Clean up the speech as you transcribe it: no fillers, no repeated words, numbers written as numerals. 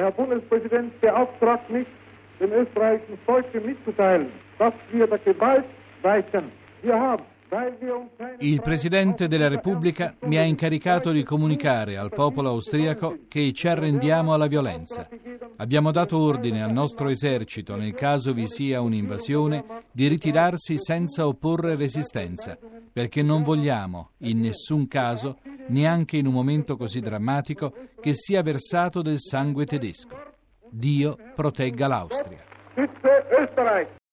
Der Herr Bundespräsident beauftragt mich, dem österreichischen Volke mitzuteilen, dass wir der Gewalt weichen. Wir haben. Il Presidente della Repubblica mi ha incaricato di comunicare al popolo austriaco che ci arrendiamo alla violenza. Abbiamo dato ordine al nostro esercito, nel caso vi sia un'invasione, di ritirarsi senza opporre resistenza, perché non vogliamo, in nessun caso, neanche in un momento così drammatico, che sia versato del sangue tedesco. Dio protegga l'Austria.